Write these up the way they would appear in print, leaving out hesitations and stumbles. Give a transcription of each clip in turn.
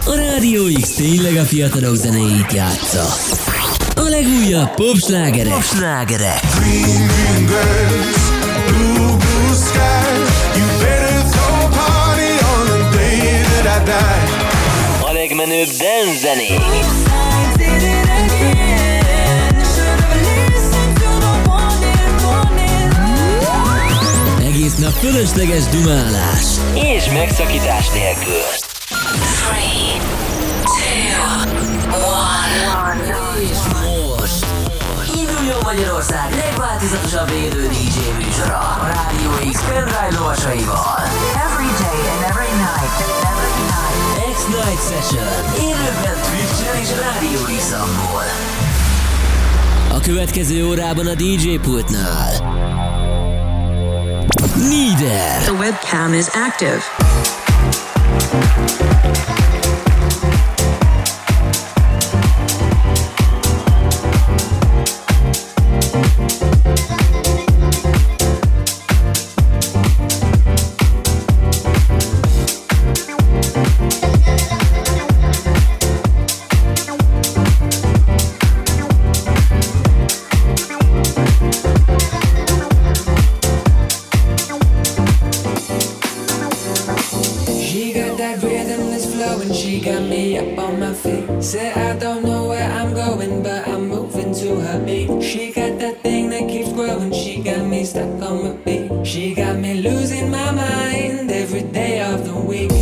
A Rádió X tényleg a fiatalok zenéit játsza. A legújabb popslágerek. Green, green grass, blue, blue sky. You better throw a party on the day that I die. A legmenőbb dance zenék. Egész nap fölösleges dumálás. És megszakítás nélkül. 3, 2, 1. És most induljon Magyarország legváltozatosabb élő DJ műsora a Rádió X pendrive lovasaival. Every day and every night. X-Night Session. Élőben Twitch-en és Rádió X-amból. A következő órában a DJ pultnál Neither. The webcam is active. Said I don't know where I'm going, but I'm moving to her beat. She got that thing that keeps growing, she got me stuck on my feet. She got me losing my mind every day of the week.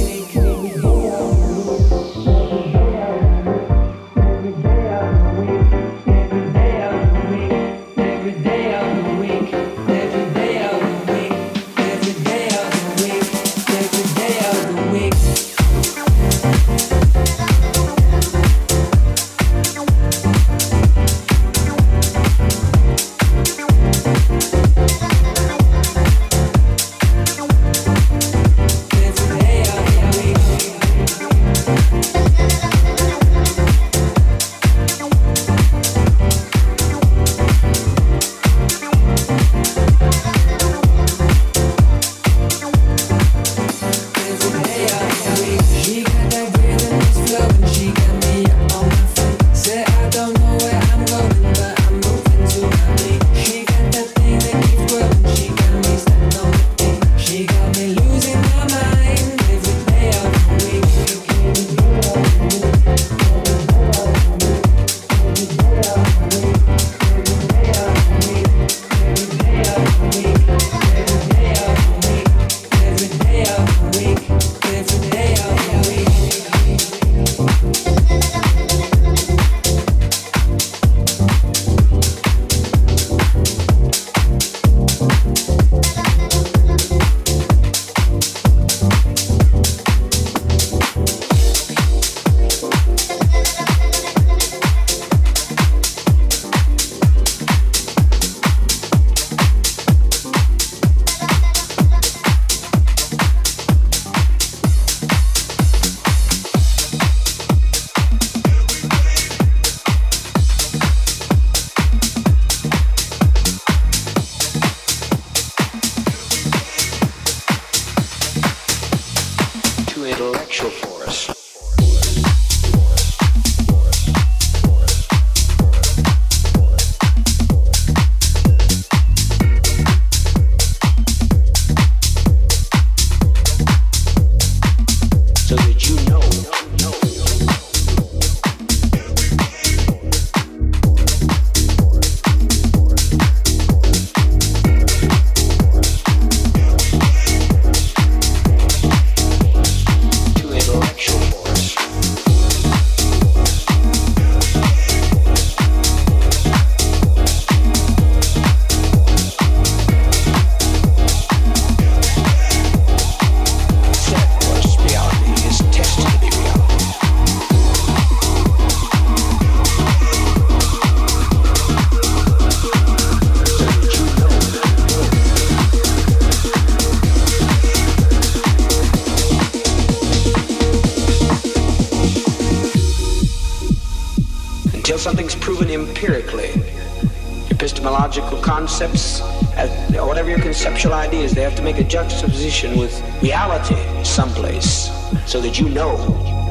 Something's proven empirically. Epistemological concepts, whatever your conceptual ideas, they have to make a juxtaposition with reality someplace so that you know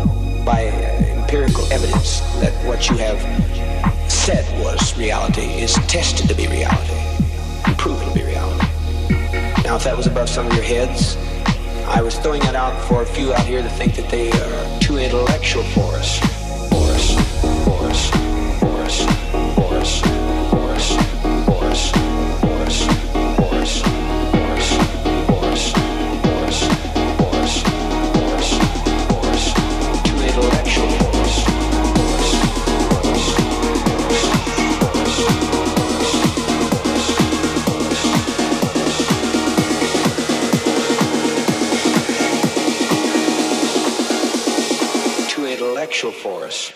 by empirical evidence that what you have said was reality is tested to be reality and proven to be reality. Now, if that was above some of your heads, I was throwing that out for a few out here to think that they are too intellectual for us. For us.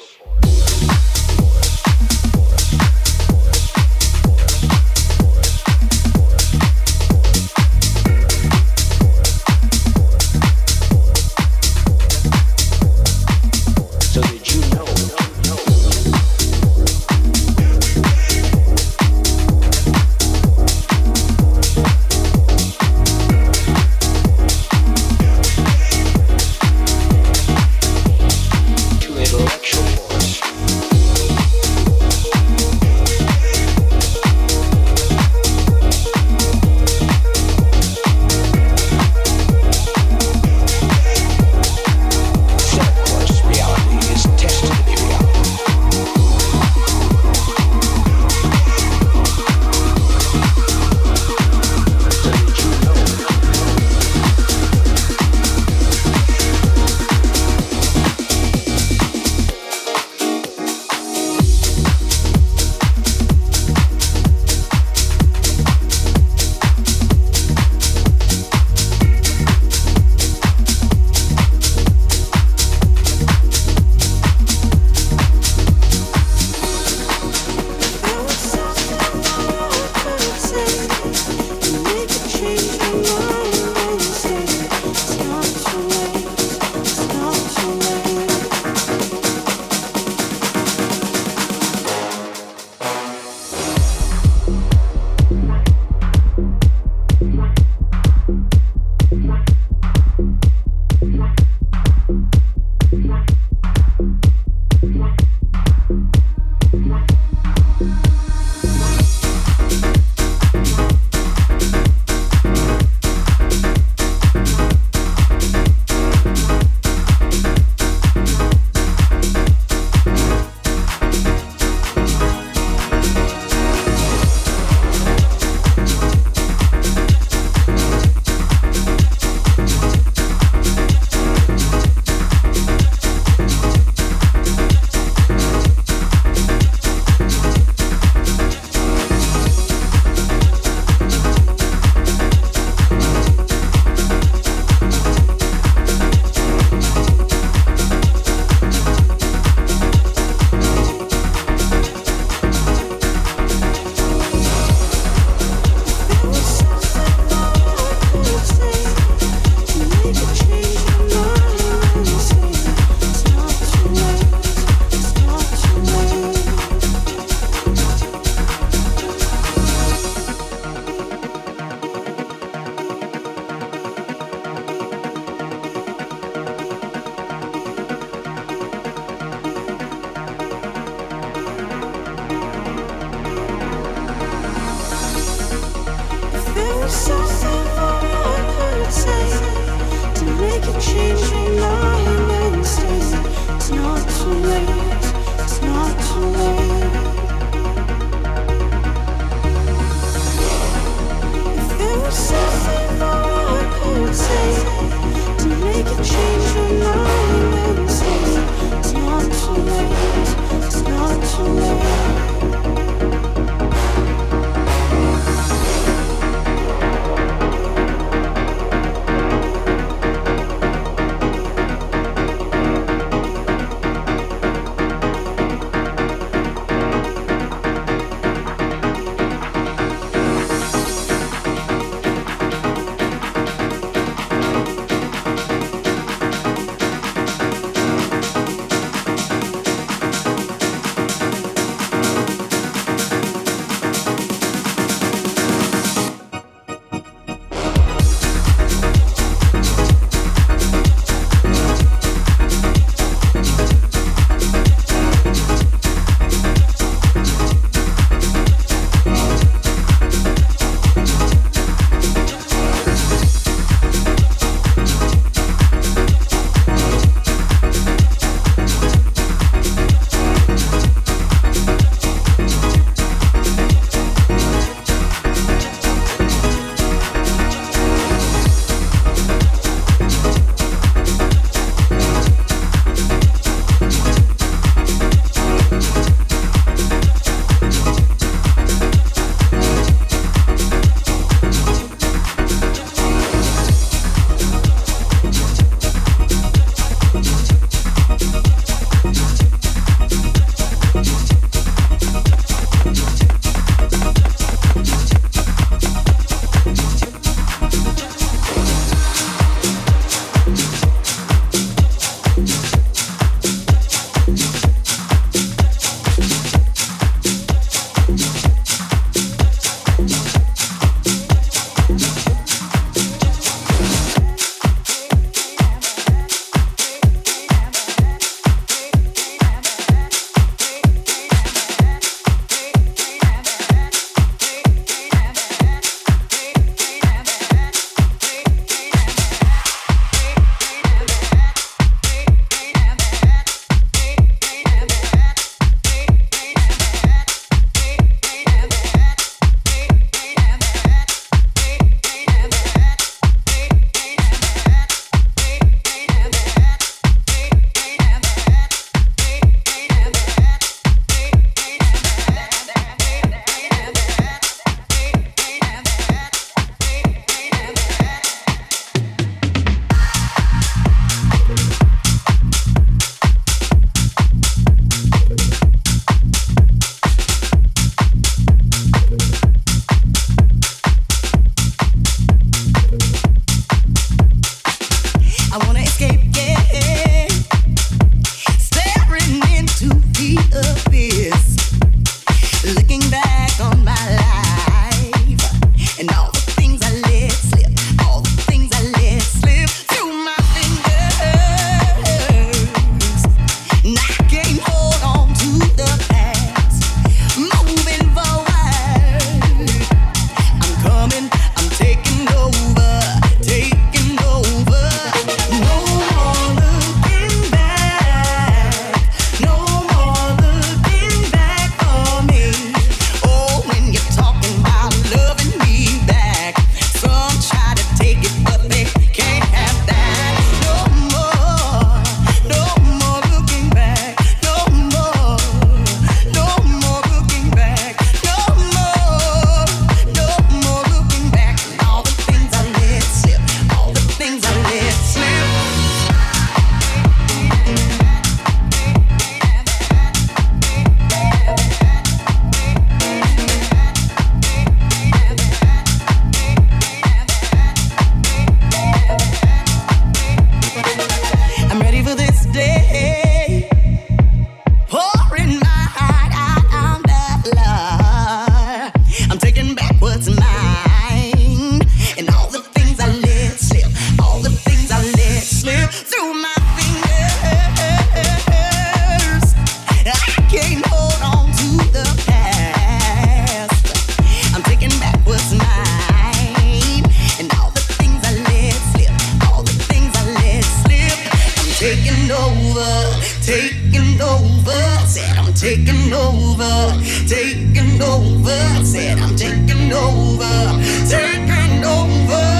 taking over, taking over. I said I'm taking over, taking over.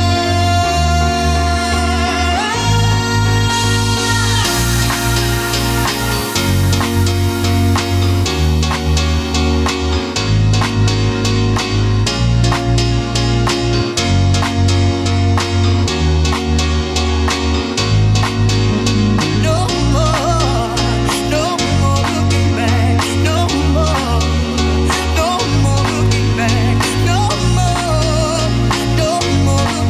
More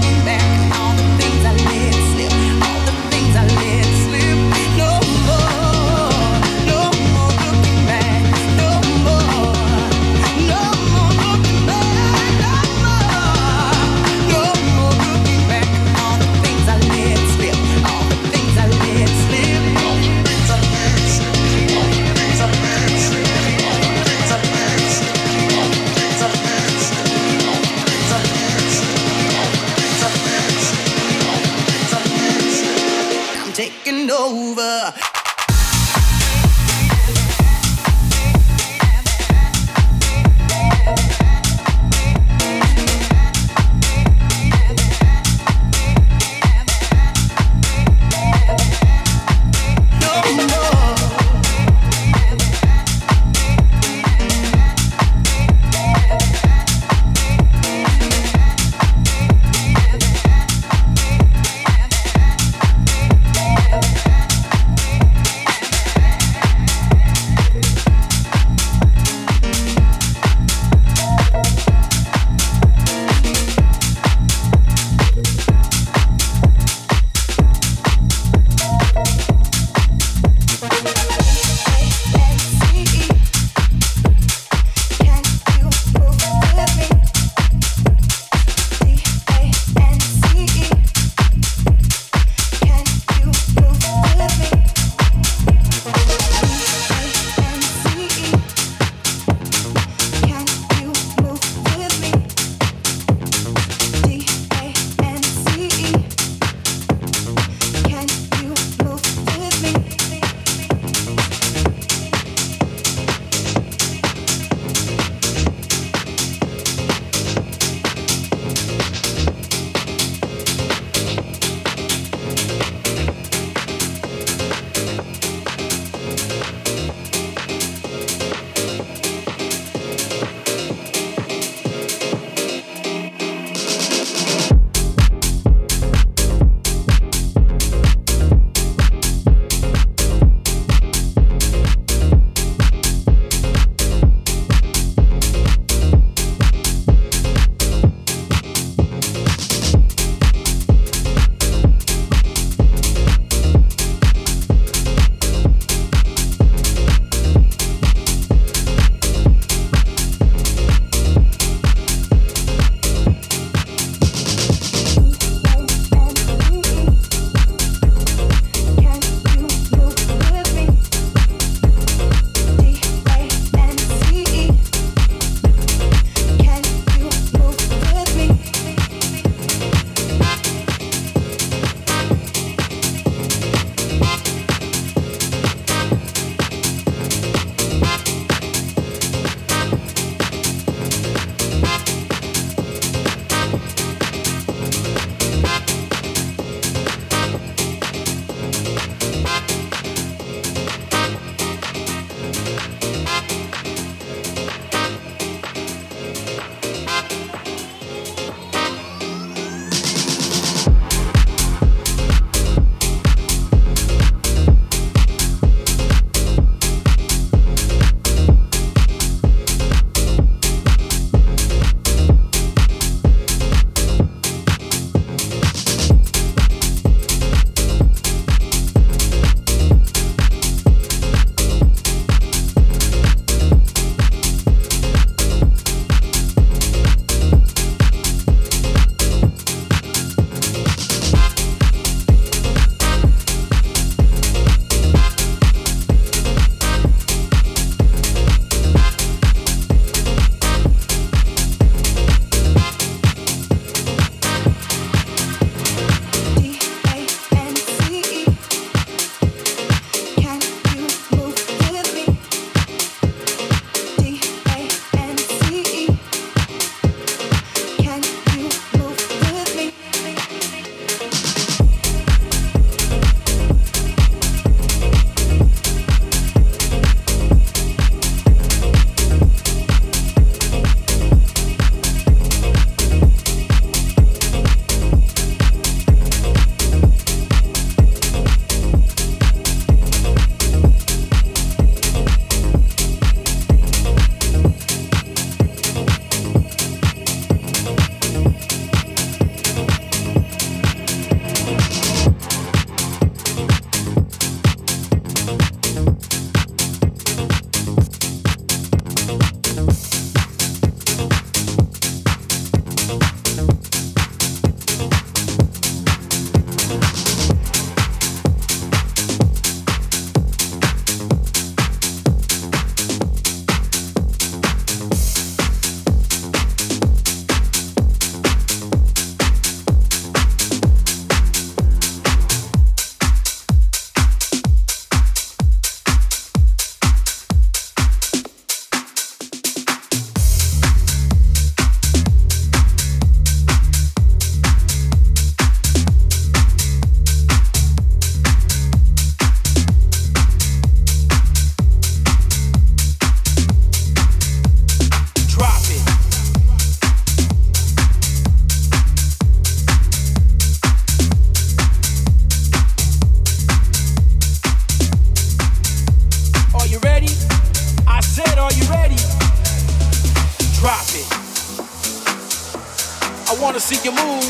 see you move.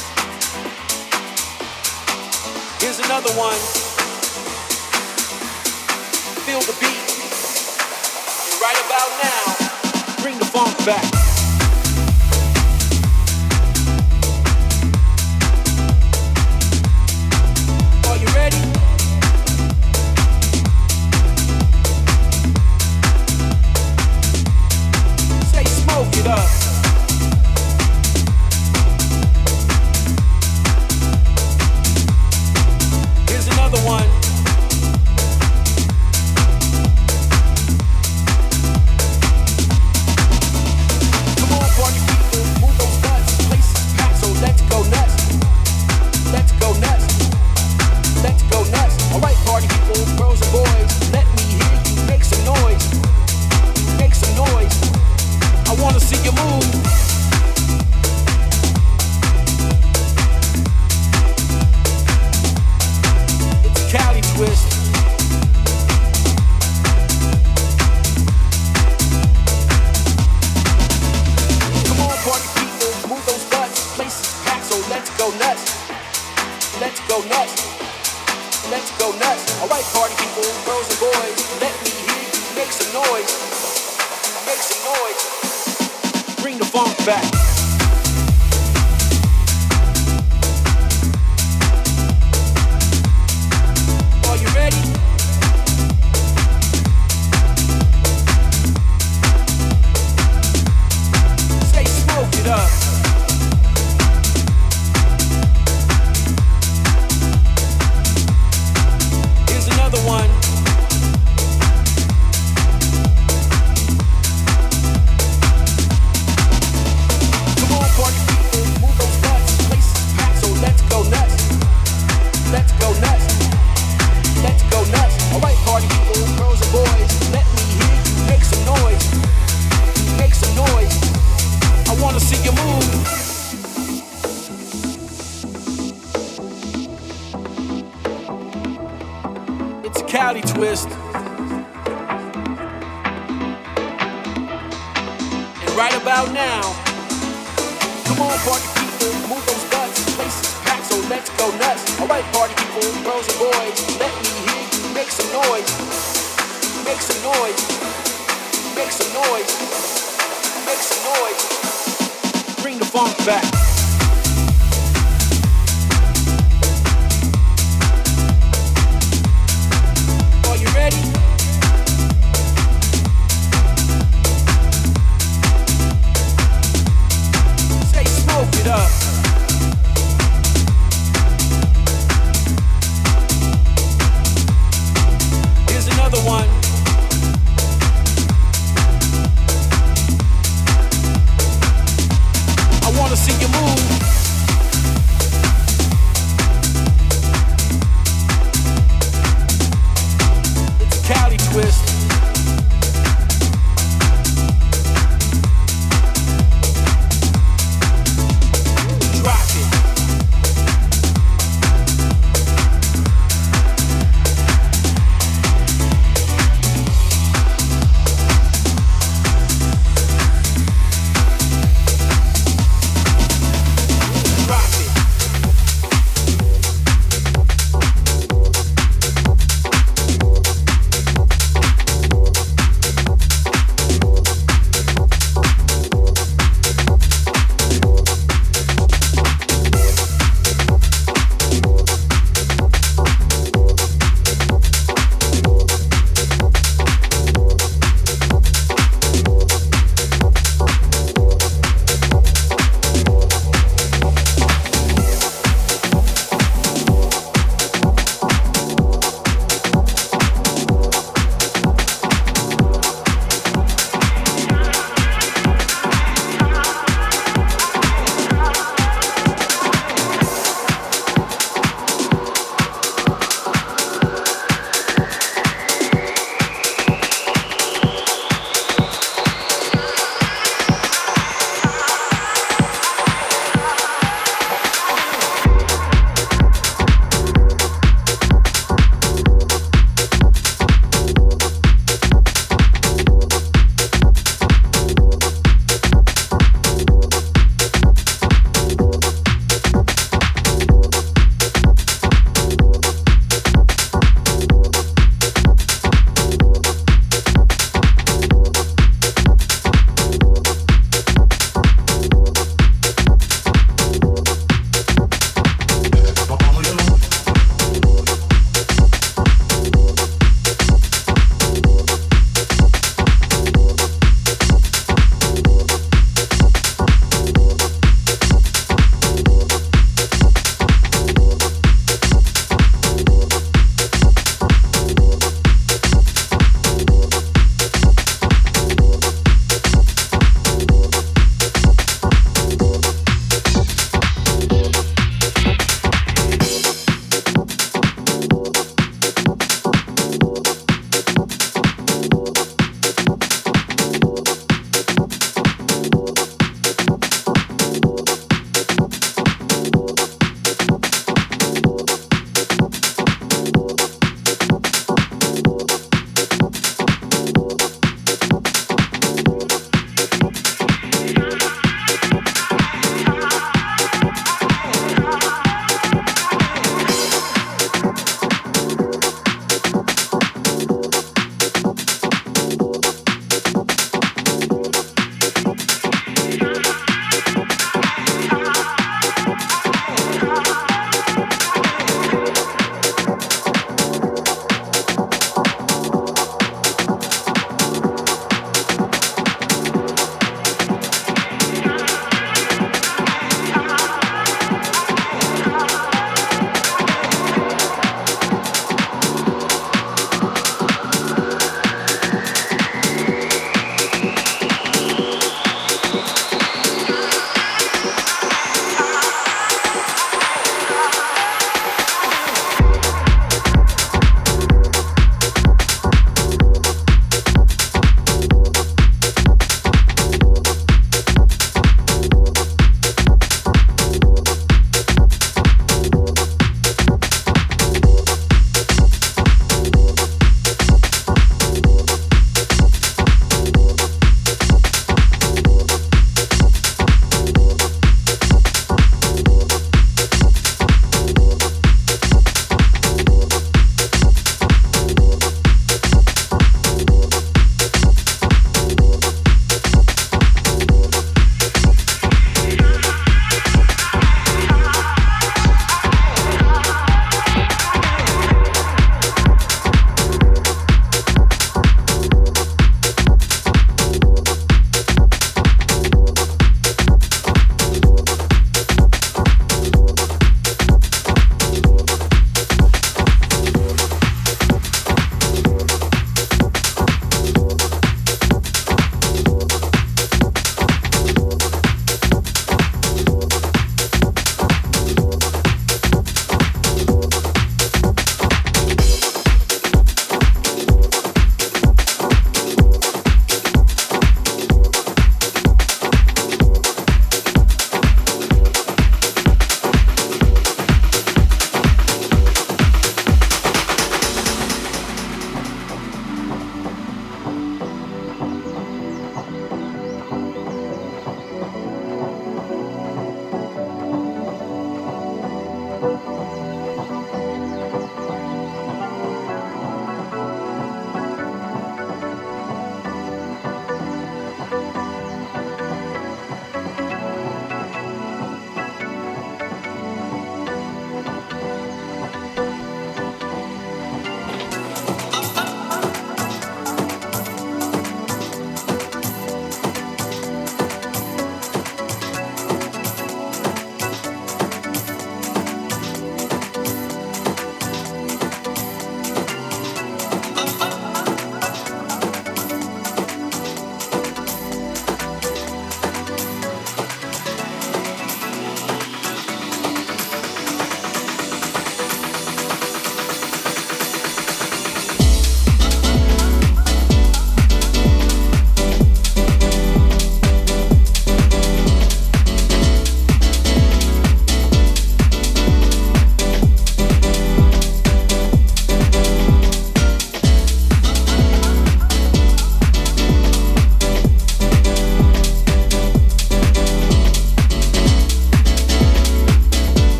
Here's another one. Feel the beat. And right about now, bring the funk back. Are you ready? Say smoke it up. Here's another one. Come on, party people, move those butts. Places packed, so let's go nuts. Let's go nuts. Let's go nuts. All right, party people, girls and boys, let me hear you make some noise. Make some noise. I wanna see you move. It's a Cali twist. Come on, party people, move those butts. Places packed, so let's go nuts. Let's go nuts. Let's go nuts. All right, party people, girls and boys, let me hear you make some noise. Make some noise. Bring the funk back. Are you ready? Say smoke it up. Here's another one. Come on, party people, move those butts. Places packed, so let's go nuts. Let's go nuts. Let's go nuts. All right, party people, girls and boys, let me hear you make some noise. Make some noise. I wanna see you move. It's a Cali twist. And right about now, come on, party people, move those butts. Places packed, so let's go nuts. All right, party people, girls and boys, let me hear you make some noise. Make some noise. Make some noise. Make some noise. Bring the funk back. Are you ready? Say smoke it up. Here's another one. I wanna see you move. It's a Cali twist. Drop it. Drop it.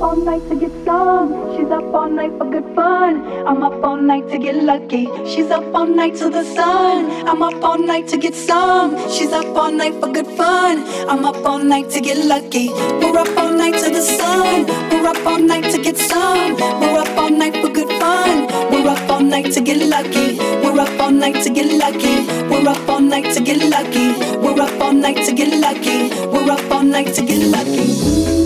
up all night to get some. She's up all night for good fun. I'm up all night to get lucky. She's up all night to the sun. I'm up all night to get some. She's up all night for good fun. I'm up all night to get lucky. We're up all night to the sun. We're up all night to get some. We're up all night for good fun. We're up all night to get lucky. We're up all night to get lucky. We're up all night to get lucky. We're up all night to get lucky. We're up all night to get lucky.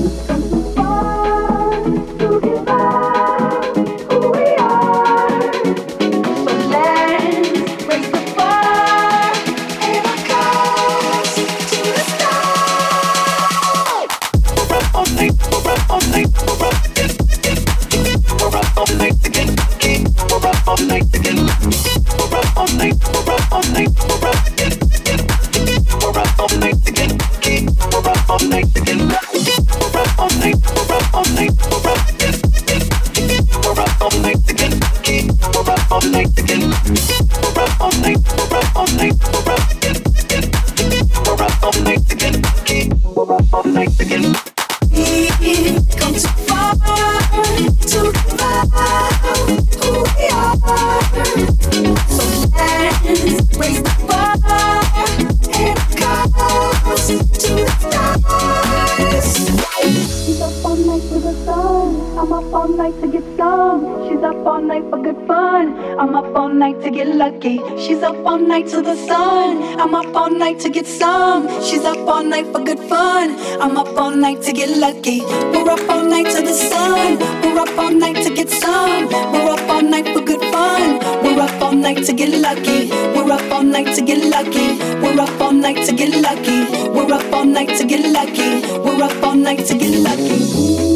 She's up all night to the sun. I'm up all night to get some. She's up all night for good fun. I'm up all night to get lucky. We're up all night to the sun. We're up all night to get some. We're up all night for good fun. We're up all night to get lucky. We're up all night to get lucky. We're up all night to get lucky. We're up all night to get lucky. We're up all night to get lucky.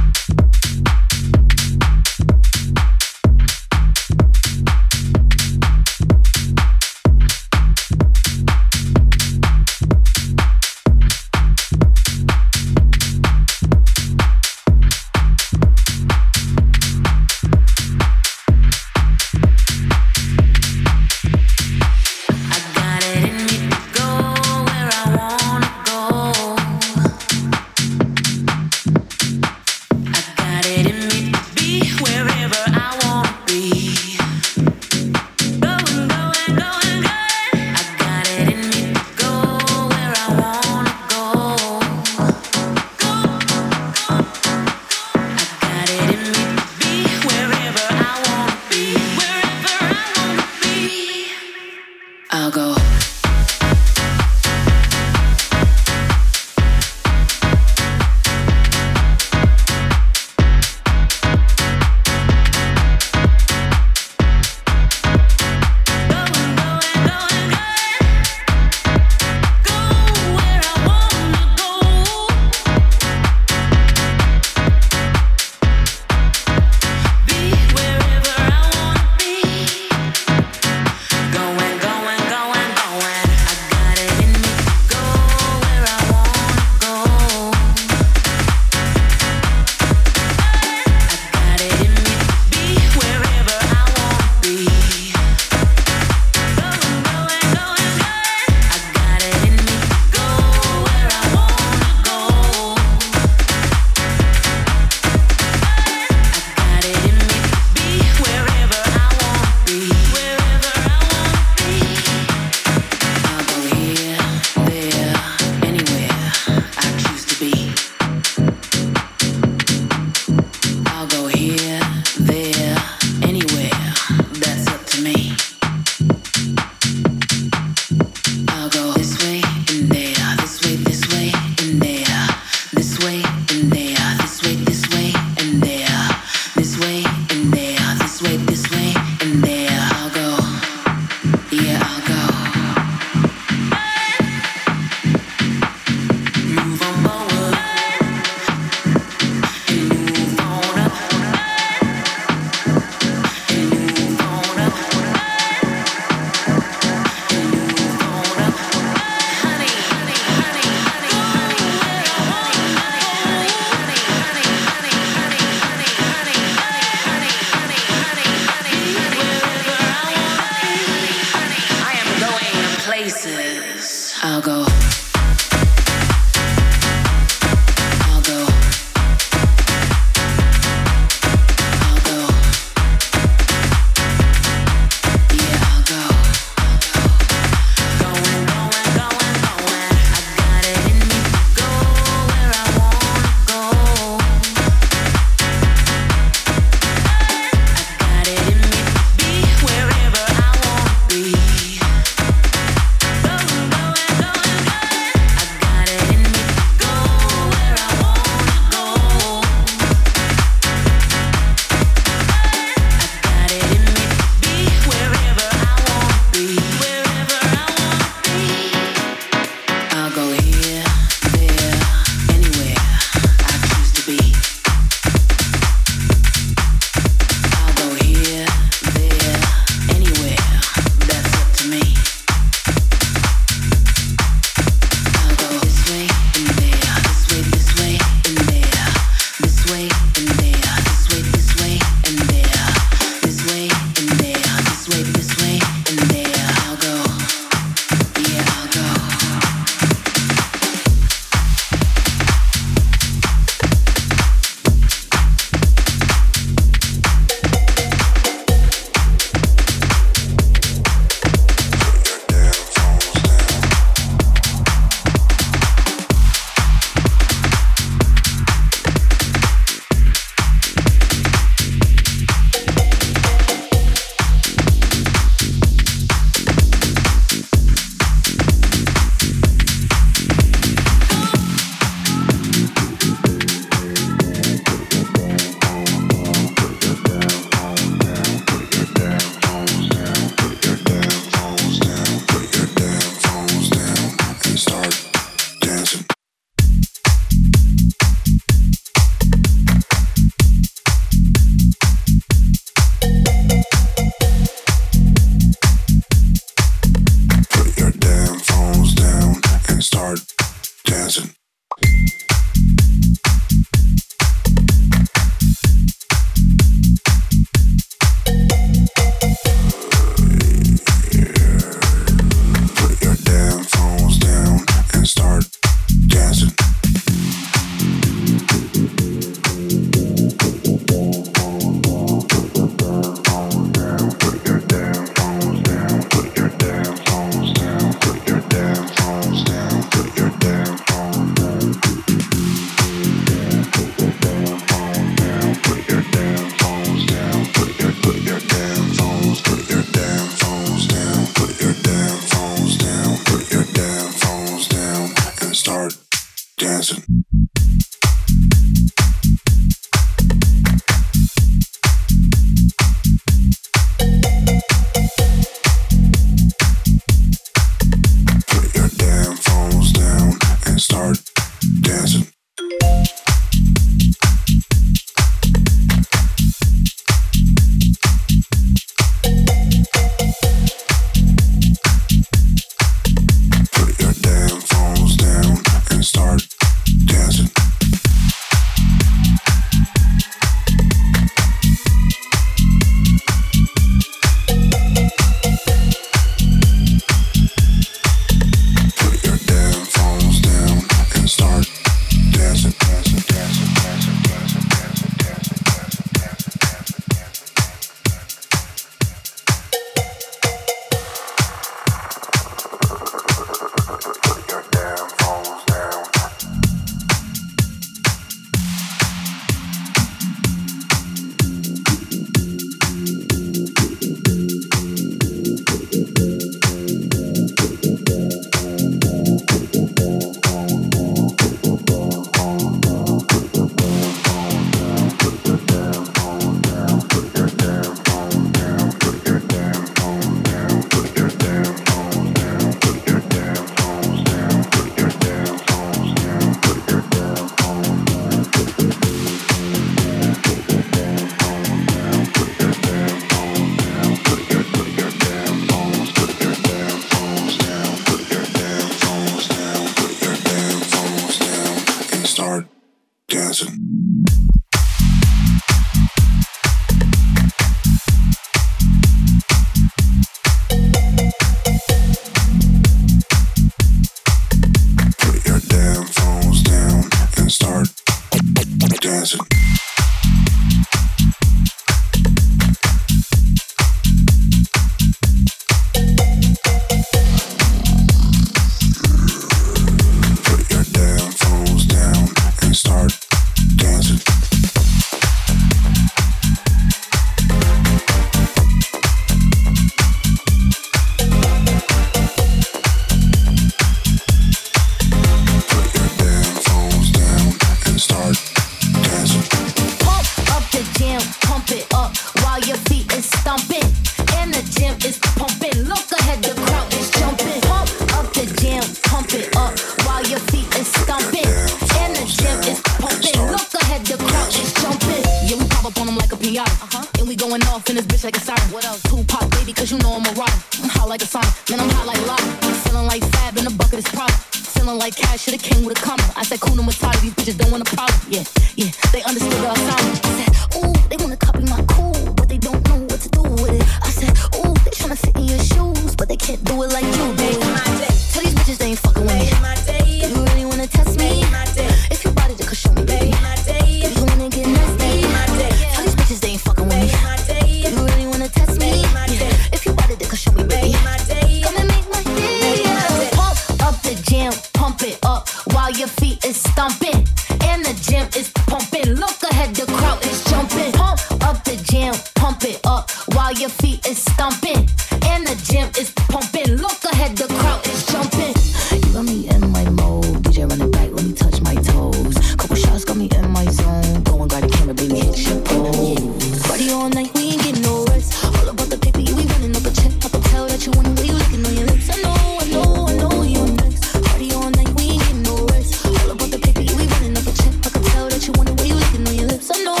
like a siren. What else? Tupac, baby, cause you know I'm a rock. I'm hot like a sauna, man, I'm hot like lava. Feeling like Fab in a bucket is Prada. Feeling like Cash should've came with a comma. I said, Kuna Matata, these bitches don't want a problem. Yeah, yeah, they understood the assignment. I said, ooh, they wanna copy my cool, but they don't know what to do with it. I said, ooh, they tryna fit in your shoes, but they can't do it like you do it. Tell these bitches they ain't fucking with me. You really wanna test me? If you bought it, then show me, baby. If you wanna get nasty, tell these bitches they ain't fucking with me. You really wanna test me? If you bought it, then show me, baby. Come and make my day. Pump up the jam, pump it up while your feet is stomping. And the gym is pumping. Look ahead, the crowd is jumping. Pump up the jam, pump it up while your feet is stomping. And the gym is pumping. Look ahead, the crowd is jumping. You got me in my mode. DJ run it back, let me touch my toes. Couple shots got me in my zone. Go and grab the camera, baby, hit your pose. Party all night, we ain't getting no rest. All about the paper, you be running up a check. I can tell that you want it, you licking on your lips. I know you're next. Party all night, we ain't getting no rest. All about the paper, you be running up a check. I can tell that you want it, you licking on your lips. I know.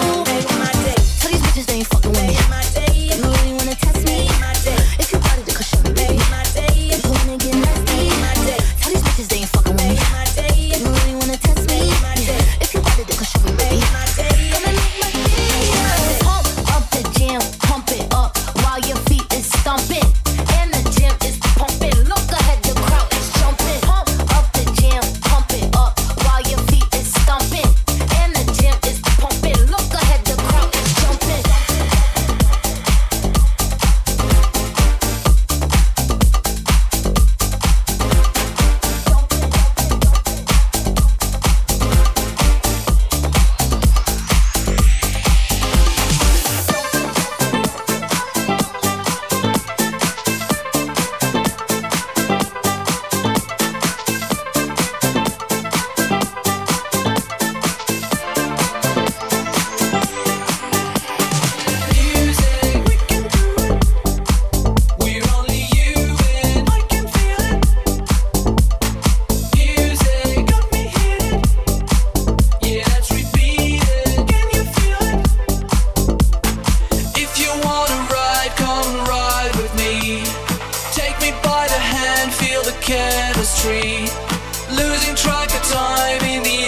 Tell these bitches they ain't fucking with me. You really wanna test me? If you bought it, then show me, baby. If you wanna get nasty, tell these bitches they ain't fucking with me. You really wanna test me? If you bought it, then show me, baby. Come and make my day. Pump up the jam, pump it up while your feet is stomping. And the gym is pumping. Look ahead, the crowd is jumping. Pump up the jam, pump it up while your feet is stomping. And the gym is pumping. Look ahead, the crowd is jumping. Chemistry, losing track of time in the